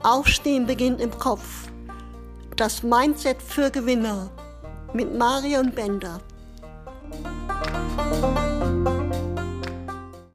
Aufstehen beginnt im Kopf. Das Mindset für Gewinner mit Marion Bender.